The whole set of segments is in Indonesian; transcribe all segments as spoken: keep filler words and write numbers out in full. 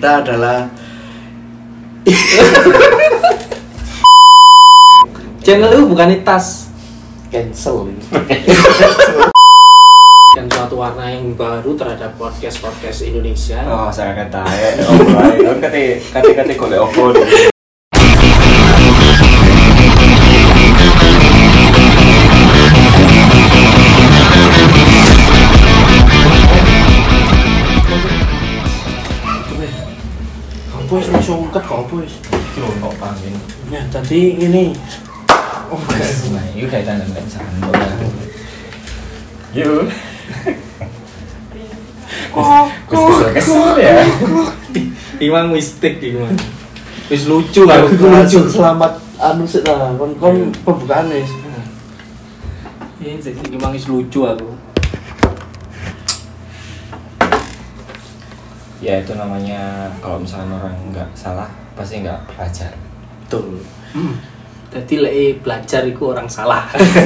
kita adalah channel itu bukan tas cancel ini. Dan suatu warna yang baru terhadap podcast-podcast Indonesia. Oh, saya kata ya. Oh, baik. Kan kate kate kate golek opo. Bos langsung ungkep kok bos. Iki lho kok pangin. Nah, tadi ini Oh, guys, nah, itu kaitan dengan sandal. Yuk. Kok Kok kesel ya? Imang mistik Imang. Wis lucu aku aku lucu lucu. selamat anu sik lah kon kon pembukaan wis. Iya, jadi Imang wis lucu aku. Ya itu namanya kalau misalnya orang nggak salah pasti nggak belajar. Betul. Hmm. Jadi lek belajar iku orang salah.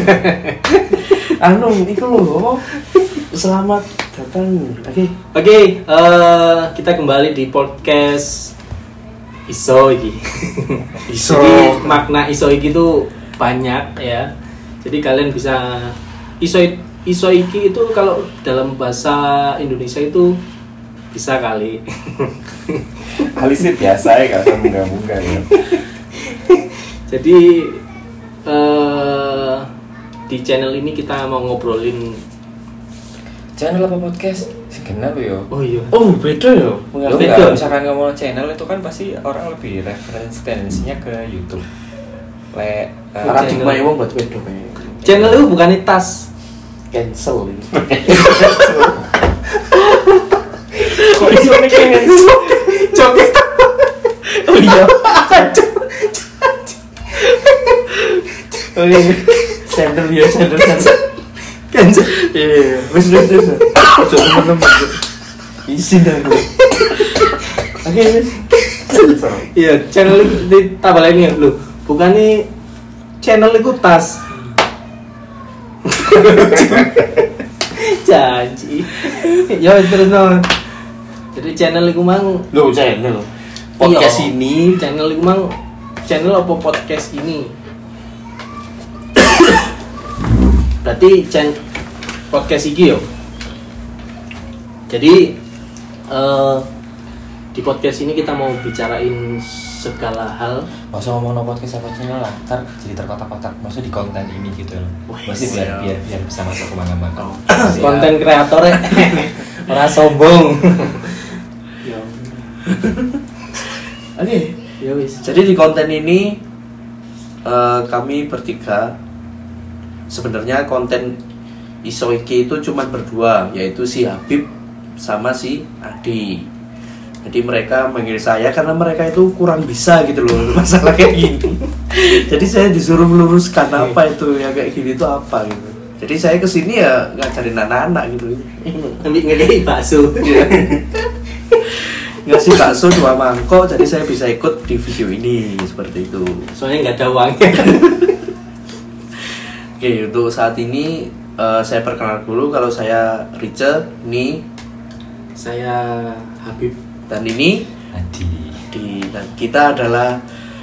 Anu iku lho. Selamat datang. Oke. Oke, eh, kita kembali di podcast Iso iki. Iso. Jadi makna Iso iki itu banyak ya. Jadi kalian bisa Iso Iso iki itu kalau dalam bahasa Indonesia itu bisa kali. Kali sih biasa ya kalau munggah-munggah ya. Jadi eh, di channel ini kita mau ngobrolin. Channel apa podcast? Kenal yo. Oh iya. Oh, beda ya. Lo Beda. nggak misalkan ngomong channel itu kan pasti orang lebih referensi tendensinya ke YouTube. Le, uh, Paradigma wong buat beda kae. Channel itu bukan tas Cancel ini. kok iso mikir? Joget. Oh iya. Oh iya. Sender ya, sender sender. Cancel. Iya, wis wis wis. Ojo temen-temen. Isin aku. Oke, wis. Iya, channel di tambah lagi lho. Bukan nih channel itu tas. Janji. Ya terus no. Jadi channel itu mang Loh, channel. Podcast Iya. ini channel itu mang channel apa podcast ini? Berarti channel podcast iki yo. Jadi eh, di podcast ini kita mau bicarain segala hal. Masa ngomong no podcast apa channel lah, ntar jadi terkotak-kotak. Maksudnya di konten ini gitu loh. Wih, Masih biar siap. biar biar bisa masuk kemana-mana. Konten kreatornya ora sombong. Ya. Oke. Ya wis. Jadi di konten ini eh, kami bertiga sebenarnya konten Iso iki itu cuma berdua, yaitu si Habib sama si Adi. Jadi mereka manggil saya karena mereka itu kurang bisa gitu loh masalah kayak gini. Jadi saya disuruh meluruskan apa itu ya kayak gini itu apa gitu. Jadi saya kesini ya ngajarin anak-anak gitu. Ambil ngekei bakso. Ngasih bakso dua mangkok, jadi saya bisa ikut di video ini seperti itu. Soalnya nggak ada uangnya. Oke, untuk saat ini uh, saya perkenalkan dulu kalau saya Rice, ini Saya Habib. dan ini Adi. di dan kita adalah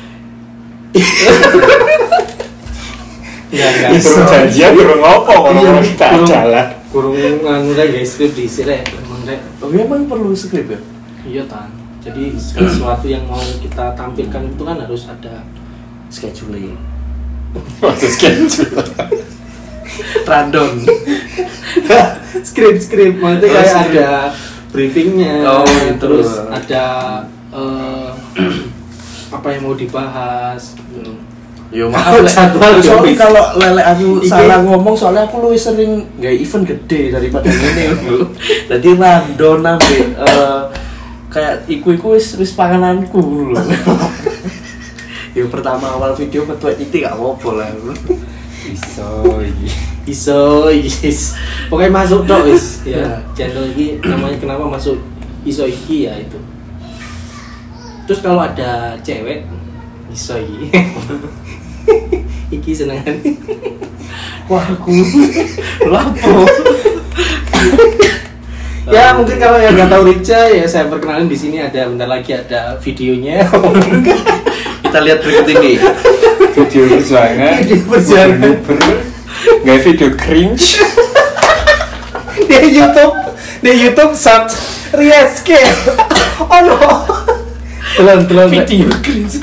Enggak enggak. Iso. Janjian kurang ngopo Iya, ngomong kita kurang- jalan. Kurung nganu rek guys, skrip di sini emang rek. oh iya, emang perlu skrip ya? Iya tan. Jadi sesuatu yang mau kita tampilkan itu kan harus ada Scheduling, Maksud schedule. random. skrip-skrip maksudnya Oh, kayak skrip. ada briefingnya, Oh, gitu. terus ada eh, apa yang mau dibahas. gitu. Yo maaf lah. Jadwal, Soalnya guys. kalau lele aku Iki- salah ngomong soalnya aku lebih sering nggak event gede daripada ini dulu. Jadi random nambe eh, kayak iku-iku wis wis pangananku dulu. Yang pertama awal video metuai titik gak apa-apa lah. Iso iki. Iso, yes. Pokoknya masuk dong, wis. Ya. Ya, channel ini namanya kenapa masuk Iso iki ya itu. Terus kalau ada cewek, Iso iki. Iki senengan. Wah aku lapo. Ya mungkin kalau yang nggak tahu Rica ya saya perkenalin di sini ada bentar lagi ada videonya. Kita lihat berikut ini. Video perjuangan. Video perjuangan. Nggak video cringe. Di YouTube, di YouTube search Rieske. Oh no. Telan telan Video cringe.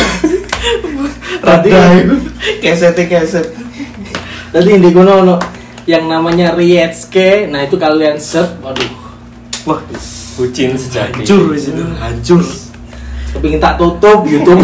Tadi keset keset. tadi di kono ono yang namanya Rieske. Nah itu kalian search, waduh. Wah, Bucin sejati. hancur di situ, hancur. Kepingin tak tutup YouTube.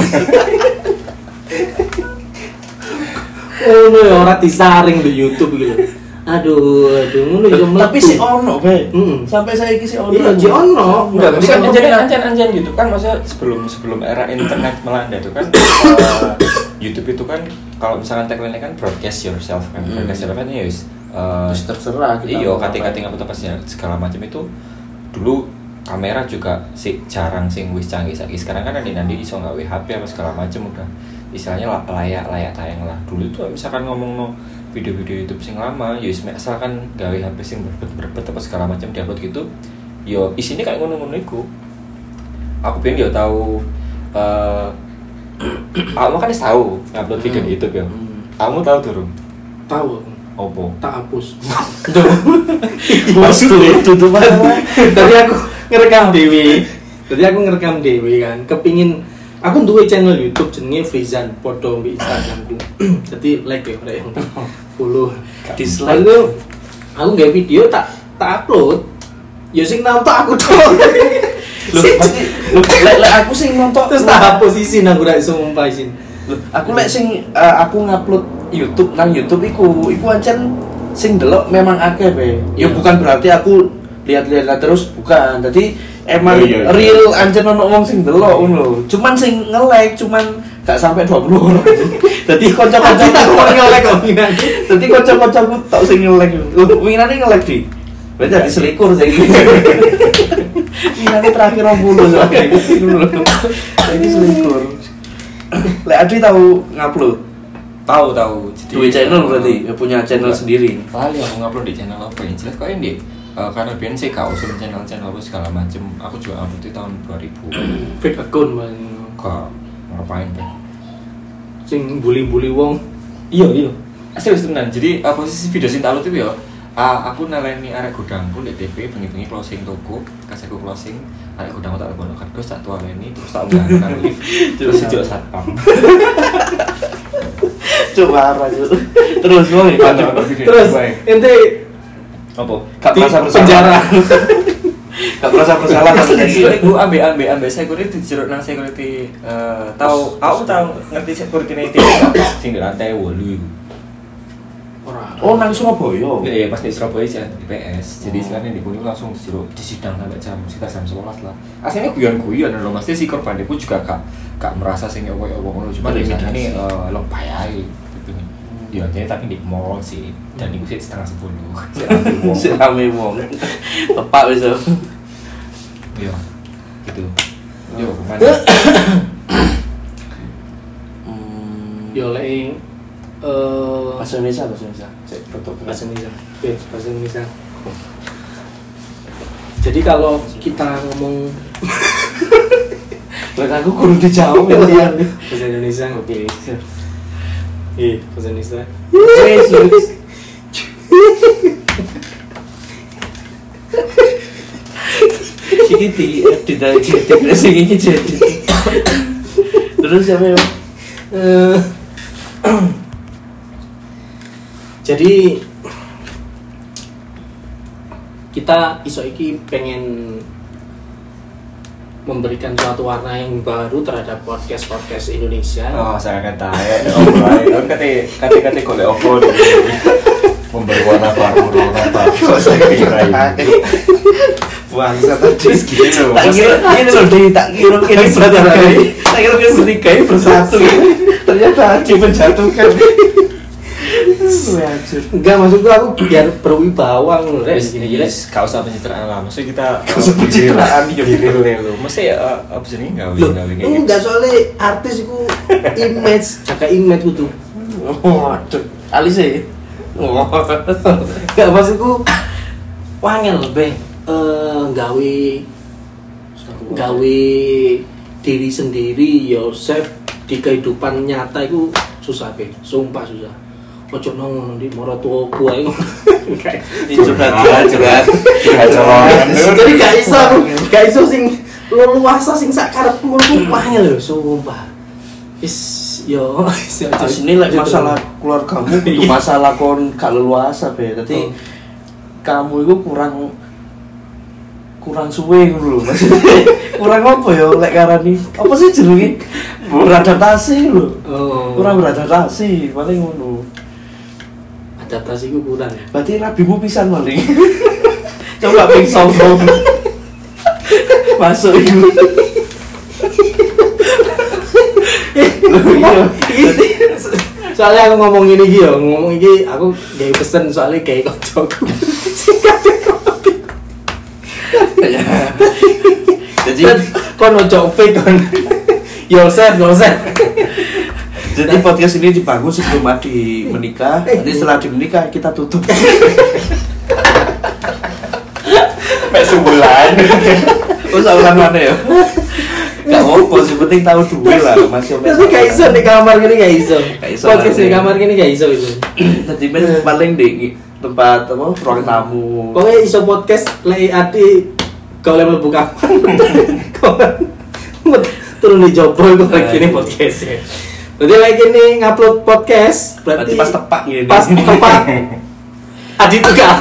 Oh no, orang disaring di YouTube gitu. Aduh, aduh, ngono iso mlebu. Tapi si ono, Be. Mm. Sampai saya iki si ono. Iya, si ono. Enggak, Bisa maksudnya komen. anjan anjan anjan gitu kan, maksudnya sebelum sebelum era internet melanda itu kan uh, YouTube itu kan kalau misalkan tagline-nya kan broadcast yourself kan, Hmm. broadcast yourself kan ya wis uh, Terus terserah kita. iyo mau kating-kating ngapain. apa apa sih segala macam itu dulu kamera juga sih jarang sing wis canggih saiki. Sekarang kan nanti-nanti iso gawe H P apa segala macam udah istilahnya la- layak layak tayang lah. Dulu itu misalkan ngomong no video-video YouTube sing lama, ya wis misalkan gawe H P sing berbet-berbet apa segala macam diupload gitu, yo isinya kayak ngono-ngono iku. Aku pengen yo tahu eh aku kan tahu ngupload video di YouTube ya. Hmm. Kamu tahu durung? Tahu, Opo? tak hapus. Maksudnya itu tuh mana? Tadi aku ngerekam Dewi. Tadi aku ngerekam Dewi kan. Kepingin aku duwe channel YouTube jenenge Frizan podo mbek Instagramku. Jadi like ya rek follow. Dislike. Lalu aku nggak video tak tak upload. Ya sing nonton aku tuh. Loh, pasti loh, lek lek aku sing nonton Terus tak hapus isin aku ra iso ngumpah isin. Loh, aku lek sing eh, aku ngupload YouTube nang YouTube iku, iku ancen sing delok memang akeh, Be. Ya Iya. bukan berarti aku lihat-lihat terus, bukan. Jadi emang Oh, iya, iya. real ancen ono wong sing delok ngono. Cuman sing nge-like cuman gak sampai dua puluh orang. Dadi kanca-kanca Kita mau nge-like kok minat. Dadi kanca-kancaku tok sing nge-like. Loh, winane nge-like di. Berarti jadi selikur sing iki. Winane terakhir dua puluh soalnya. Saiki selikur. Lek Adri tahu ngupload. Tahu tahu. Jadi Dua channel berarti, ya punya channel sendiri. Paling aku ngupload di channel apa yang jelas kok ini uh, karena biar sih kau usul channel-channel apa segala macem. Aku juga upload di tahun dua ribu. Fake account man. Kok ngapain deh? Sing bully-bully wong. Iya iya. Asli wis tenan. Jadi uh, posisi video sing tak upload itu ya uh, aku naleni arek gudangku di T P bengi-bengi closing toko, kasihku closing, arek gudangku tak lebono kardus tak tualeni terus tak unggah nang lift terus sejak satpam. Coba arah itu. Terus wong Terus ente apa? gak di merasa bersalah. penjara. Gak merasa bersalah Asli sama di dia. sini gue ambil ambil ambil security jeruk nang security eh, tahu aku tahu ngerti security nih sing di lantai wolu itu. Ora. Oh, nang Surabaya. Iya pas di Surabaya sih di P S. Jadi sekarang di Kuning langsung disuruh disidang sampai jam sekitar jam sebelas lah. Aslinya guyon-guyon loh, pasti si korban itu juga gak gak merasa sing opo-opo ngono, cuma Bener, ini ini sadar. eh, lo payah gitu nih. Ya jadi tapi di mall sih dan itu sih setengah sepuluh. Si ambil wong. Si rame wong. Tepak wis. Iya gitu. Yo kemana? Hmm. Yo lek eh Bahasa Indonesia, bahasa Indonesia. Cek foto. bahasa Indonesia. Oke, bahasa Indonesia. Jadi kalau kita ngomong Lek aku kudu dijawab ya. Iya. bahasa Indonesia, oke. Iya, bahasa Indonesia. Wes, wes. Iki di edit aja, edit sing iki jadi. Terus siapa ya? Eh, jadi kita iso iki pengen memberikan suatu warna yang baru terhadap podcast podcast Indonesia. Oh, saya kata ya, oh, kan kata kata kata golek opo memberi warna baru, warna baru. Kok saya kira bangsa tadi Gini loh, tak kira ini loh di tak kira ini bertiga tak kira ini bertiga bersatu ternyata Adi menjatuhkan. Wajur. Enggak, maksudku aku biar berwibawa ngono rek Wis gini-gini. gak usah pencitraan lah, maksudnya kita Gak usah pencitraan, ya real lo. Mesti ya apa sih ini gawe Loh, gawe kayak enggak soalnya artis iku image, jaga image kudu. Waduh, alis e. Wah. Enggak maksudku wangel be. uh, gawe gawe diri sendiri yourself di kehidupan nyata itu susah be, sumpah susah. Ojo nang ndi maratuwa kuwi. Itu curhat curhat. Jadi gak iso, gak iso sing leluasa sing sak karepmu ku angel lho, sumpah. Is yo asine lek masalah keluargamu kudu masalah kon gak leluasa be. Dadi kamu itu kurang kurang suwe ngono lho. Maksudnya kurang apa ya lek karani? Apa sih jenenge? Beradaptasi lho. Oh. Kurang beradaptasi, paling ngono. Adaptasi ku kurang. Berarti rabimu pisan paling. Coba ping sombong. Masuk iku. Iya. Soalnya aku ngomong ini iki yo, ngomong iki aku gawe pesen soalnya gawe kancaku. Jadi kon ojo fake kon. Yourself, yourself. Jadi podcast ini dibangun sebelum Adi menikah. Nanti setelah menikah kita tutup. Mek sebulan. Oh, sebulan mana ya? Gak apa-apa, sih penting tahu duwe lah masih oke. Tapi gak iso di kamar gini gak iso. Gak iso. Podcast di kamar gini gak iso itu. Tadi men paling di tempat apa ruang tamu. Pokoknya iso podcast lek Adi kalau level buka. Turun di jopo itu lagi ini podcastnya. Berarti lagi ini ngupload podcast. Berarti, berarti pas tepak gini. Pas tepak. Adi tuh gak.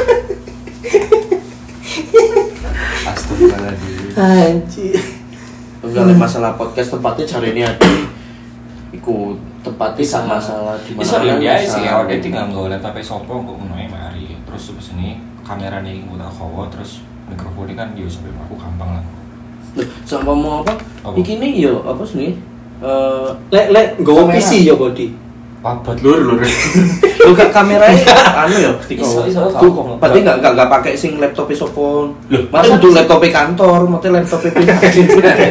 Astagfirullahaladzim. Anjir. Enggak hmm. masalah podcast tempatnya cari ini Adi. Iku tempatnya sama masalah di mana. Bisa ya sih, awake tinggal nggo laptop sopo kok ngono ae mari. Terus terus ini kamerane iki tak kowo terus mikrofonnya kan yo sampai aku gampang lah. Sama mau apa? Iki nih yo apa sih? Eh, lek lek nggo P C yo body. Papat lur lur. Lu gak kameranya anu yo, iso iso kok. Berarti enggak enggak enggak pakai sing laptop sopo. Lho, masa kudu laptop kantor, mate laptop pribadi.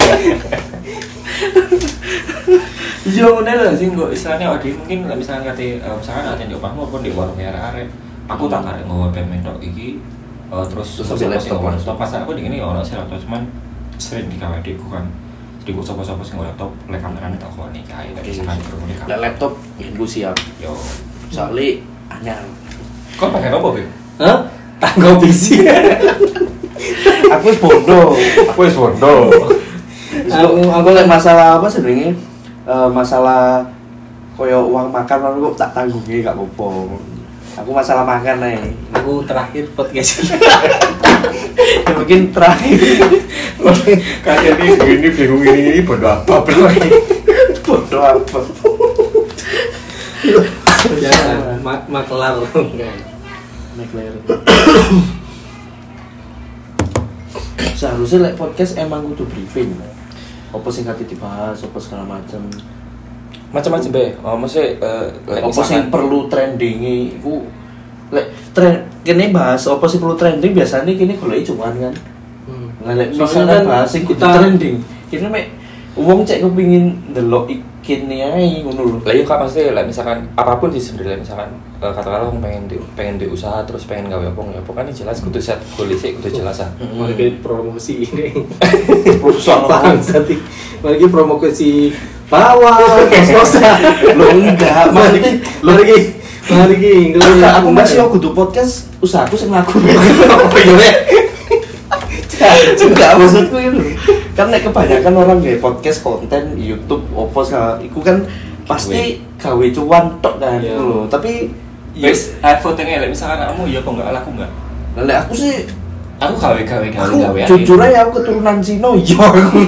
Iya ngene lho sing kok istilahnya ade mungkin lah misalnya kate misalkan ate ndek omahmu apa ndek warung arek-arek. Aku tak arek nggawa P M tok iki terus sambil laptop laptop pas aku dingene ono sih laptop cuman sering di K W D ku kan. Jadi gue sopo-sopo sing laptop, lek kamerane tak kono iki ae lek misalkan mikrofone kan. Lek laptop yen ku siap. Yo. Soale anyar. Kok pakai apa, Beb? Hah? Tanggo P C. Aku wis bondo. Aku wis bondo. Aku aku lek masalah apa sebenarnya? Uh, masalah koyo uang makan aku tak tanggungi gak apa-apa. Aku masalah makan ae. Aku terakhir podcast. Ya, mungkin terakhir. Kayak ini begini bingung ini ini bodoh apa bro? Bodoh apa? Ya, mak maklar. Maklar. Seharusnya like podcast emang kudu briefing. Apa sing kate dibahas, apa segala macam. Macam-macam be. Oh, maksudnya uh, apa sing perlu trendingi iku lek tren kene bahas apa sih perlu trending biasanya kini goleki cuan kan. Hmm. Lek misalnya bahas sing kudu trending. Kene mek wong cek kepengin ndelok ikine ae ngono lho. Lah yo Kak maksudnya lek misalkan apapun sih sebenarnya misalkan uh, katakanlah wong pengen di, pengen di usaha terus pengen gawe apa ya pokoknya jelas kudu set goal sik kudu jelas ah. Mari promosi ini. Perusahaan apa sih? Mari promosi bawah kos-kosan. Lo enggak, mari mari mari ki aku masih aku kudu podcast usahaku sing laku. Oh iya. Enggak maksudku itu. Kan nek kebanyakan orang gawe podcast konten YouTube opo segala iku kan pasti gawe cuan tok kan gitu loh. Tapi wis fotonya lek misalkan kamu ya kok enggak laku enggak? Lek aku sih aku gawe gawe gawe gawe. Jujur aja aku keturunan Cina yo aku.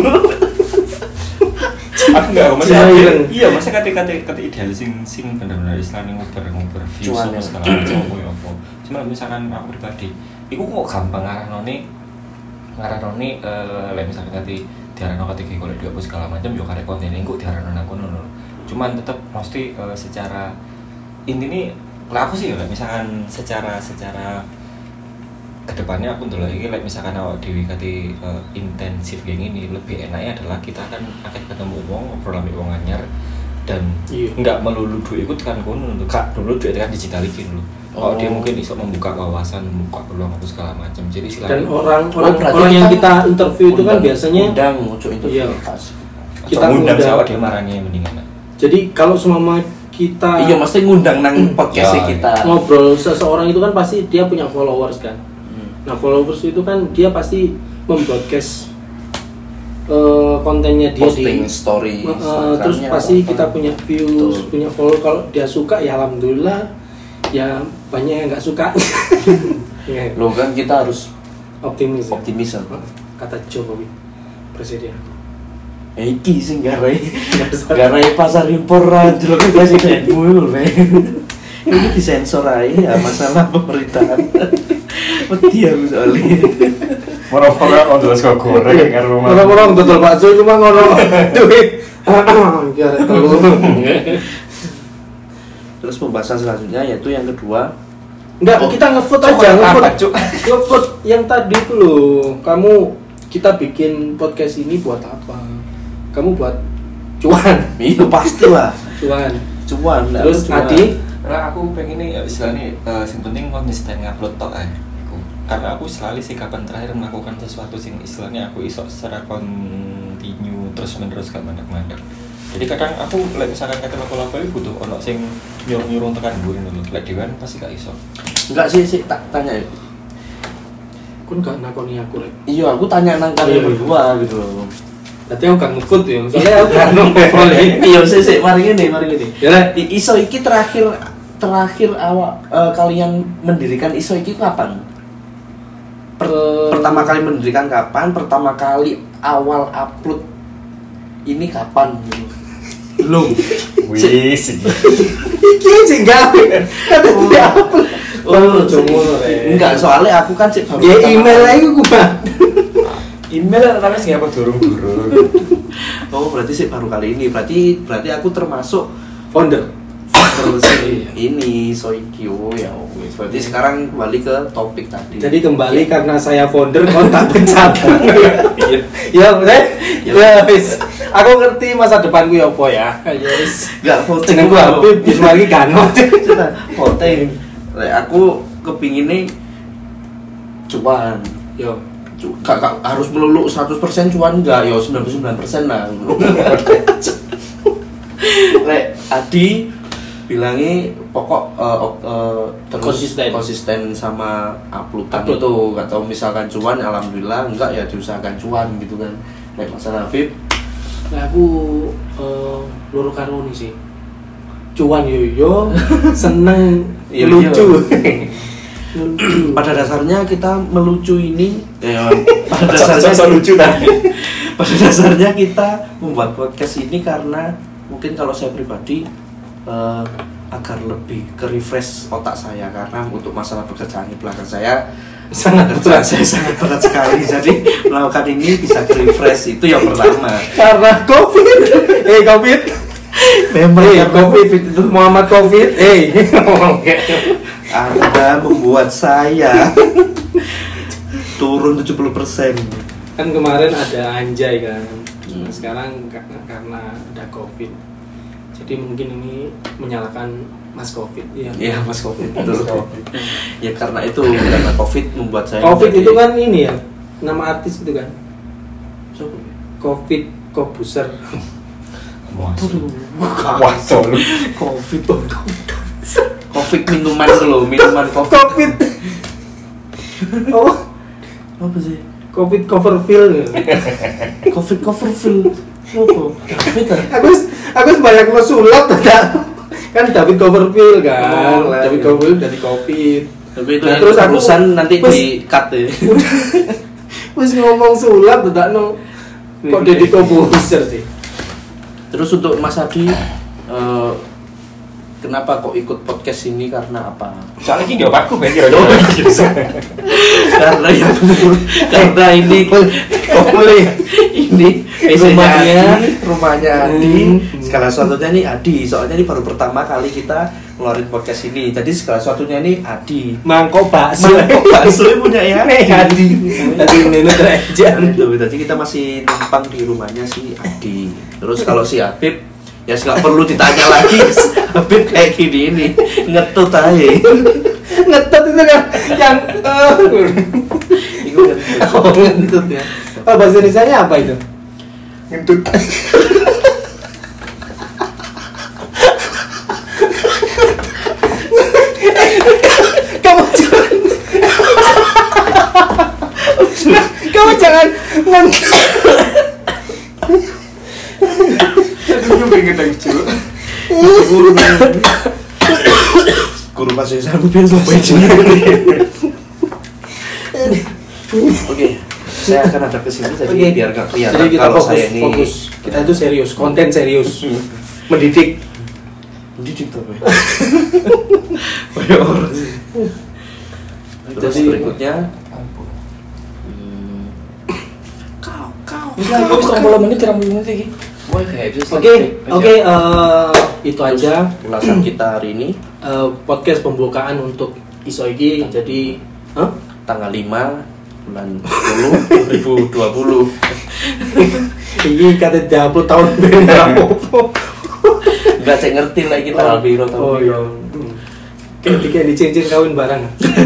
Aku enggak masa iya masa kate-kate kate ideal sing sing bener-bener istilahnya ngoper-ngoper views sama segala macam apa. Cuma misalkan aku pribadi iku kok gampang ngarahone ngarahone eh lek misalkan kate diarano kate golek duit apa segala macam yo karek konten iku diarano aku ngono. Cuman tetep mesti uh, secara intine lah aku sih ya misalkan secara secara kedepannya aku ndelok iki like misalkan awak dhewe kate uh, intensif kayak gini lebih enaknya adalah kita kan akan ketemu wong ngobrol ambek wong anyar dan iya. Enggak melulu duit ikut kan kono kak dulu duit kan digital iki dulu Oh, Oh. dia mungkin bisa membuka wawasan, membuka peluang apa segala macam. Jadi Dan selain orang Oh, orang berarti orang yang kita kita interview itu kan undang- biasanya undang ojo interview Iya. pas. kita kita ngundang ngundang- siapa dia marahnya mendingan. jadi kalau semua kita Iya, mesti ngundang nang podcast Ya, kita. ngobrol seseorang itu kan pasti dia punya followers kan. Hmm. Nah followers itu kan dia pasti membroadcast eh, kontennya dia Posting di story. eh, Instagramnya terus atau pasti apa. kita punya views, Betul. punya follow. Kalau dia suka ya alhamdulillah, ya banyak yang nggak suka. Ya, Loh kan kita harus optimis. Ya. optimis apa? Kata Jokowi, presiden. Eh, iki sing garai garai pasar impor aja lho presidenmu lho Le. Ini disensor aja ya masalah pemerintahan. Wedi aku soalnya. Orang-orang on terus kok goreng karo rumah. Orang-orang betul bakso cuma ngono duit. Biar telur. Terus pembahasan selanjutnya yaitu yang kedua. Enggak, Oh, kita ngevote Cuk, aja, apa, ngevote. Cuk? Ngevote yang tadi itu loh. Kamu kita bikin podcast ini buat apa? Kamu buat cuan, Itu pastilah cuan. cuan. Terus cuan. Adi, Nah, aku pengen nih istilahnya uh, yang penting konsisten ngupload tok ae. Iku. Karena aku selalu sih kapan terakhir melakukan sesuatu sing istilahnya aku iso secara kontinu terus menerus gak mandek-mandek. Jadi kadang aku like, misalkan kata lapo-lapo itu butuh ono sing nyuruh-nyuruh tekan gue dulu. Lek dewan pasti gak iso. Enggak sih sih tak tanya ya. kun gak nakoni aku rek. Iya, aku tanya nang kalian Iya. berdua gitu loh. Berarti aku gak ngevote ya. Soalnya aku gak ngevote. Iya, sih sih mari ngene, mari ngene. Ya Rek. I- Iso iki terakhir terakhir awak eh, kalian mendirikan Iso iki kapan? Per- Eh, pertama kali mendirikan kapan? Pertama kali awal upload ini kapan gitu. Belum. Wis. Iki sing gawe. Kata dia apa? Oh, sih. jomo rek. Enggak, soalnya aku kan sih baru Ya pertama email kali- aja gua. Email tapi sih apa durung-durung. Oh, berarti sih baru kali ini. Berarti berarti aku termasuk Founder. terus ini Soikyo ya wes. Berarti sekarang kembali ke topik tadi. Jadi kembali karena saya founder kontak pencet. Ya, Rek. Ya. Ya wis. Aku ngerti masa depanku ya apa ya. Yes. Enggak voting Jenengku Habib wis lagi ganot. voting. Lek aku kepinginnya cuan. Yo. Cu- Gak, gak harus melulu seratus persen cuan enggak, ya sembilan puluh sembilan persen lah. Lek Adi bilangnya pokok eh, op- eh, terus Konsisten. konsisten sama uploadan Upload. itu. Gak tau misalkan cuan alhamdulillah, enggak ya diusahakan cuan gitu kan. Lek masalah Habib Nah, aku eh loro karo ini sih. Cuan yo yo, seneng Yo yo. lucu. Lucu. pada dasarnya kita melucu ini ya, pada dasarnya So-so lucu tadi. pada dasarnya kita membuat podcast ini karena mungkin kalau saya pribadi eh, agar lebih ke refresh otak saya karena untuk masalah pekerjaan di belakang saya Sangat pekerjaan berat. saya sangat berat sekali jadi melakukan ini bisa ke refresh itu yang pertama. Karena Covid. Eh, Covid. Memang Eh, karena Covid COVID itu Muhammad Covid. Eh. Anda membuat saya turun tujuh puluh persen. Kan kemarin ada Anjay kan. Nah, sekarang karena karena ada Covid. Jadi mungkin ini menyalahkan Mas Covid. Iya. Iya, Mas Covid. Betul. Ya karena itu karena Covid membuat saya Covid menjadi- itu kan ini ya. Nama artis itu kan. Siapa? Covid Kobuser. Wah, wah, lu. Covid. Covid minuman itu loh, minuman Covid. Covid. Oh, Apa sih? Covid Coverfield. Covid Coverfield. Apa? Covid ah? Aku aku banyak lo sulap tidak. Kan David Coverfield kan. Oh, lah, David iya. Coverfield dari Covid. Tapi itu Nah, yang terus aku- urusan nanti Terus- di cut ya. Wis ngomong sulap tidak no. Kok Deddy Kobuser sih? Terus untuk Mas Adi eh, kenapa kok ikut podcast ini karena apa? Soalnya ini jawab aku kan kira Karena ya betul. Karena ini boleh ini Rumahnya. Adi, rumahnya Adi. Hmm. Segala sesuatunya nih Adi. Soalnya ini baru pertama kali kita ngeluarin podcast ini. Jadi segala sesuatunya ini Adi. Mangkok bakso. Mangkok bakso punya ya Adi. Tadi nenek aja. Itu, jadi kita masih numpang di rumahnya si Adi. Terus kalau si Habib ya nggak perlu ditanya lagi. Habib kayak gini ini ngetut aja. Ngetet itu kan yang eh Itu kan oh, ngentut ya. Oh, bahasa Indonesianya apa itu? Ngentut. Kamu jangan kamu jangan ngentut. Aduh, pengen lucu. guru bahasa Indonesia aku biar lupa aja. Oke, saya akan ada kesini jadi Oke. biar nggak kelihatan Jadi kita kalau fokus, saya ini fokus. Kita itu serius, konten serius, mendidik. didik tuh. Banyak orang sih. Terus Jadi- berikutnya hmm, Kau, kau. Wis lah, wis tromol menit, tromol menit iki. Wah, kayak bisa. Oke, oke, eh, itu aja ulasan kita hari ini eh, podcast pembukaan untuk Isoiki. Jadi, huh? tanggal lima bulan sepuluh dua ribu dua puluh. Ini kata tiga puluh tahun berapa? Enggak cek ngerti lah kita Oh. albiro Oh, tahun iya. Ketika dicincin kawin barang.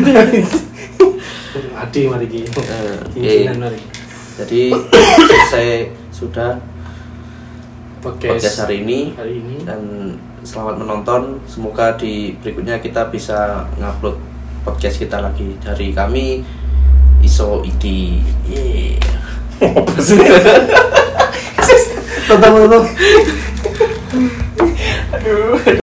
Adi mari ki. Eh, Cincinan oke. mari. Jadi selesai sudah Podcast podcast hari ini hari ini. dan selamat menonton. Semoga di berikutnya kita bisa ngupload podcast kita lagi dari kami Iso Iki. Yeah. Apa sih? Tonton tonton. Aduh.